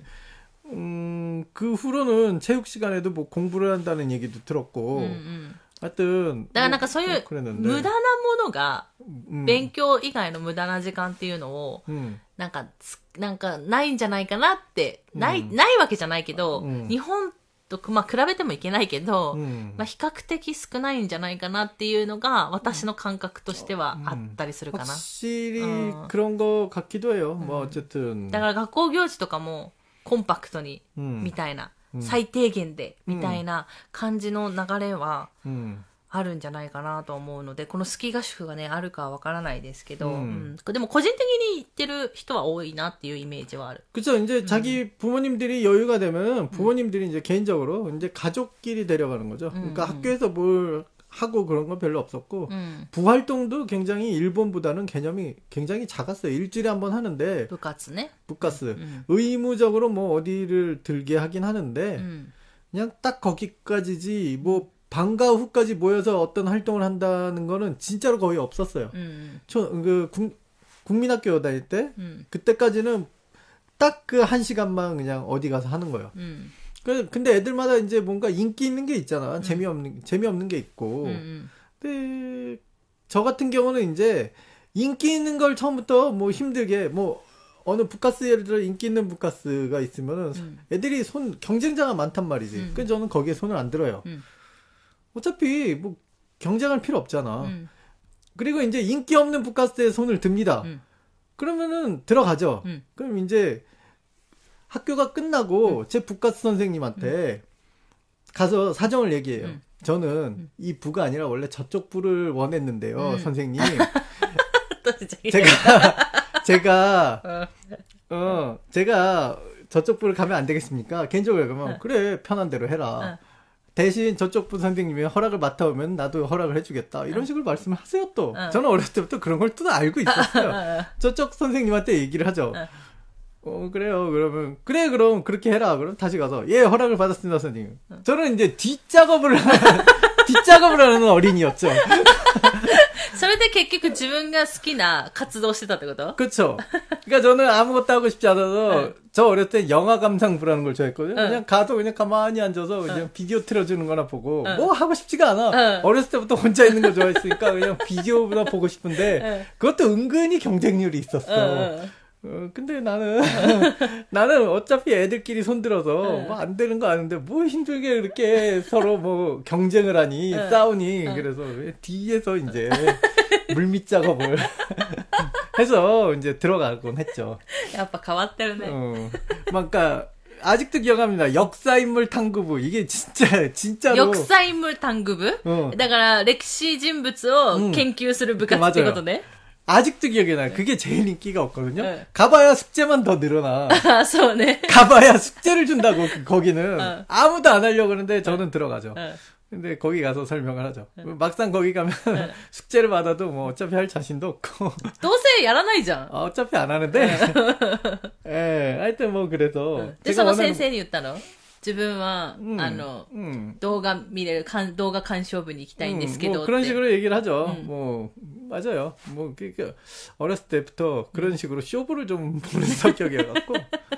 그 후로는 체육 시간에도 뭐 공부를 한다는 얘기도 들었고, 하여튼. だからなんかそういう無駄なものが、勉強以外の無駄な時間っていうのを、なんかないんじゃないかなって、ないわけじゃないけど、日本とまあ比べてもいけないけど、まあ比較的少ないんじゃないかなっていうのが私の感覚としてはあったりするかな。 확실히 그런 거 같기도 해요. 뭐 어쨌든. だから学校行事とかもコンパクトに、みたいな、最低限で、みたいな感じの流れは、あるんじゃないかなと思うので、このスキー合宿がね、あるかはわからないですけど、でも個人的に行ってる人は多いなっていうイメージはある。 그쵸. 이제 자기 부모님들이 여유가 되면 부모님들이 이제 개인적으로 이제 가족끼리 데려가는 거죠. 그러니까 학교에서 뭘 하고 그런 건 별로 없었고, 부활동도 굉장히 일본보다는 개념이 굉장히 작았어요. 일주일에 한 번 하는데, 부가스네? 부가스. 의무적으로 뭐 어디를 들게 하긴 하는데, 그냥 딱 거기까지지, 뭐, 방과 후까지 모여서 어떤 활동을 한다는 거는 진짜로 거의 없었어요. 국민학교 다닐 때, 그때까지는 딱 그 1시간만 그냥 어디 가서 하는 거예요. 근데 애들마다 이제 뭔가 인기 있는 게 있잖아. 재미없는 게 있고. 근데 저 같은 경우는 이제 인기 있는 걸 처음부터 뭐 힘들게 뭐 어느 북카스 예를 들어 인기 있는 북카스가 있으면은 애들이 경쟁자가 많단 말이지. 그래서 저는 거기에 손을 안 들어요. 어차피 뭐 경쟁할 필요 없잖아. 그리고 이제 인기 없는 북카스에 손을 듭니다. 그러면은 들어가죠. 그럼 이제 학교가 끝나고 제 북카스 선생님한테 가서 사정을 얘기해요. 저는 이 부가 아니라 원래 저쪽 부를 원했는데요, 선생님. 제가 저쪽 부를 가면 안 되겠습니까? 개인적으로 그러면 그래 편한 대로 해라. 대신 저쪽 부 선생님이 허락을 맡아오면 나도 허락을 해주겠다. 이런 식으로 말씀을 하세요 또. 저는 어렸을 때부터 그런 걸 또 알고 있었어요. 저쪽 선생님한테 얘기를 하죠. 그래요. 그러면 그래 그럼 그렇게 해라. 그럼 다시 가서 예 허락을 받았습니다 선생님. 저는 이제 뒷작업을 하는 어린이였죠. それで結局自分が好きな活動してたってこと? 그쵸. 그러니까 저는 아무것도 하고 싶지 않아서 저 어렸을 때 영화 감상부라는 걸 좋아했거든요. 그냥 가서 그냥 가만히 앉아서 그냥 비디오 틀어주는 거나 보고 뭐 하고 싶지가 않아. 어렸을 때부터 혼자 있는 거 좋아했으니까 그냥 비디오보다 보고 싶은데 그것도 은근히 경쟁률이 있었어. 근데 나는 어차피 애들끼리 손들어서 뭐 안 되는 거 아는데 뭐 힘들게 그렇게 서로 뭐 경쟁을 하니 싸우니 그래서 뒤에서 이제 물밑 작업을 해서 이제 들어가곤 했죠. やっぱ変わってるね. 그러니까 아직도 기억합니다. 역사인물 탐구부. 이게 진짜로. 역사인물 탐구부? だから歴史人物を研究する部活ってことね. 아직도 기억이 나요. 그게 제일 인기가 없거든요. 가봐야 숙제만 더 늘어나. 아,そうね. 가봐야 숙제를 준다고, 거기는. 아무도 안 하려고 그러는데 저는 들어가죠. 근데 거기 가서 설명을 하죠. 막상 거기 가면 숙제를 받아도 뭐 어차피 할 자신도 없고. どうせやらないじゃん. 어차피 안 하는데. 예, 하여튼 뭐 그래서. で、その先生に言ったの?自分は、動画見れる、動画鑑賞部に行きたいんですけど。 뭐 그런 식으로 얘기를 하죠. 뭐, 맞아요. 뭐, 어렸을 때부터 그런 식으로 쇼부를 좀 보는 성격이어갖고.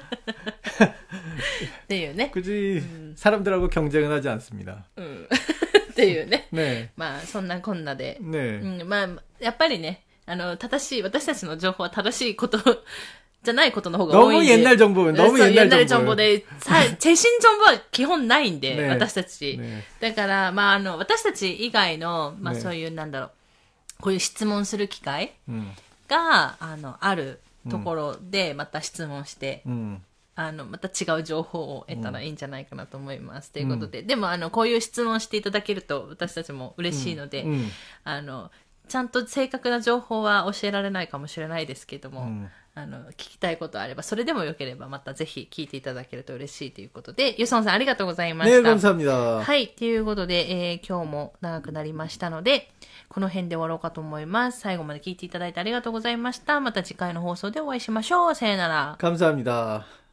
네. 굳이 사람들하고 경쟁은 하지 않습니다. っていうね。 네. まあ、そんなこんなで。 네. まあ、やっぱりね、正しい、私たちの情報は正しいこと、じゃないことの方が多いんで。 너무 옛날 정보, 너무 옛날 정보で、最新情報は基本ないんで、 ね、 私たち。ね、だから、まあ、私たち以外の、まあ、そういう、なんだろう、こういう質問する機会が、あるところで、また質問して、また違う情報を得たらいいんじゃないかなと思います。ということで、でも、こういう質問していただけると、私たちも嬉しいので、ちゃんと正確な情報は教えられないかもしれないですけども、聞きたいことあれば、それでもよければまたぜひ聞いていただけると嬉しいということで、ユソンさんありがとうございました。 ね、감사합니다。 はい、ということで、今日も長くなりましたので、この辺で終わろうかと思います。最後まで聞いていただいてありがとうございました。また次回の放送でお会いしましょう。さよなら。 감사합니다。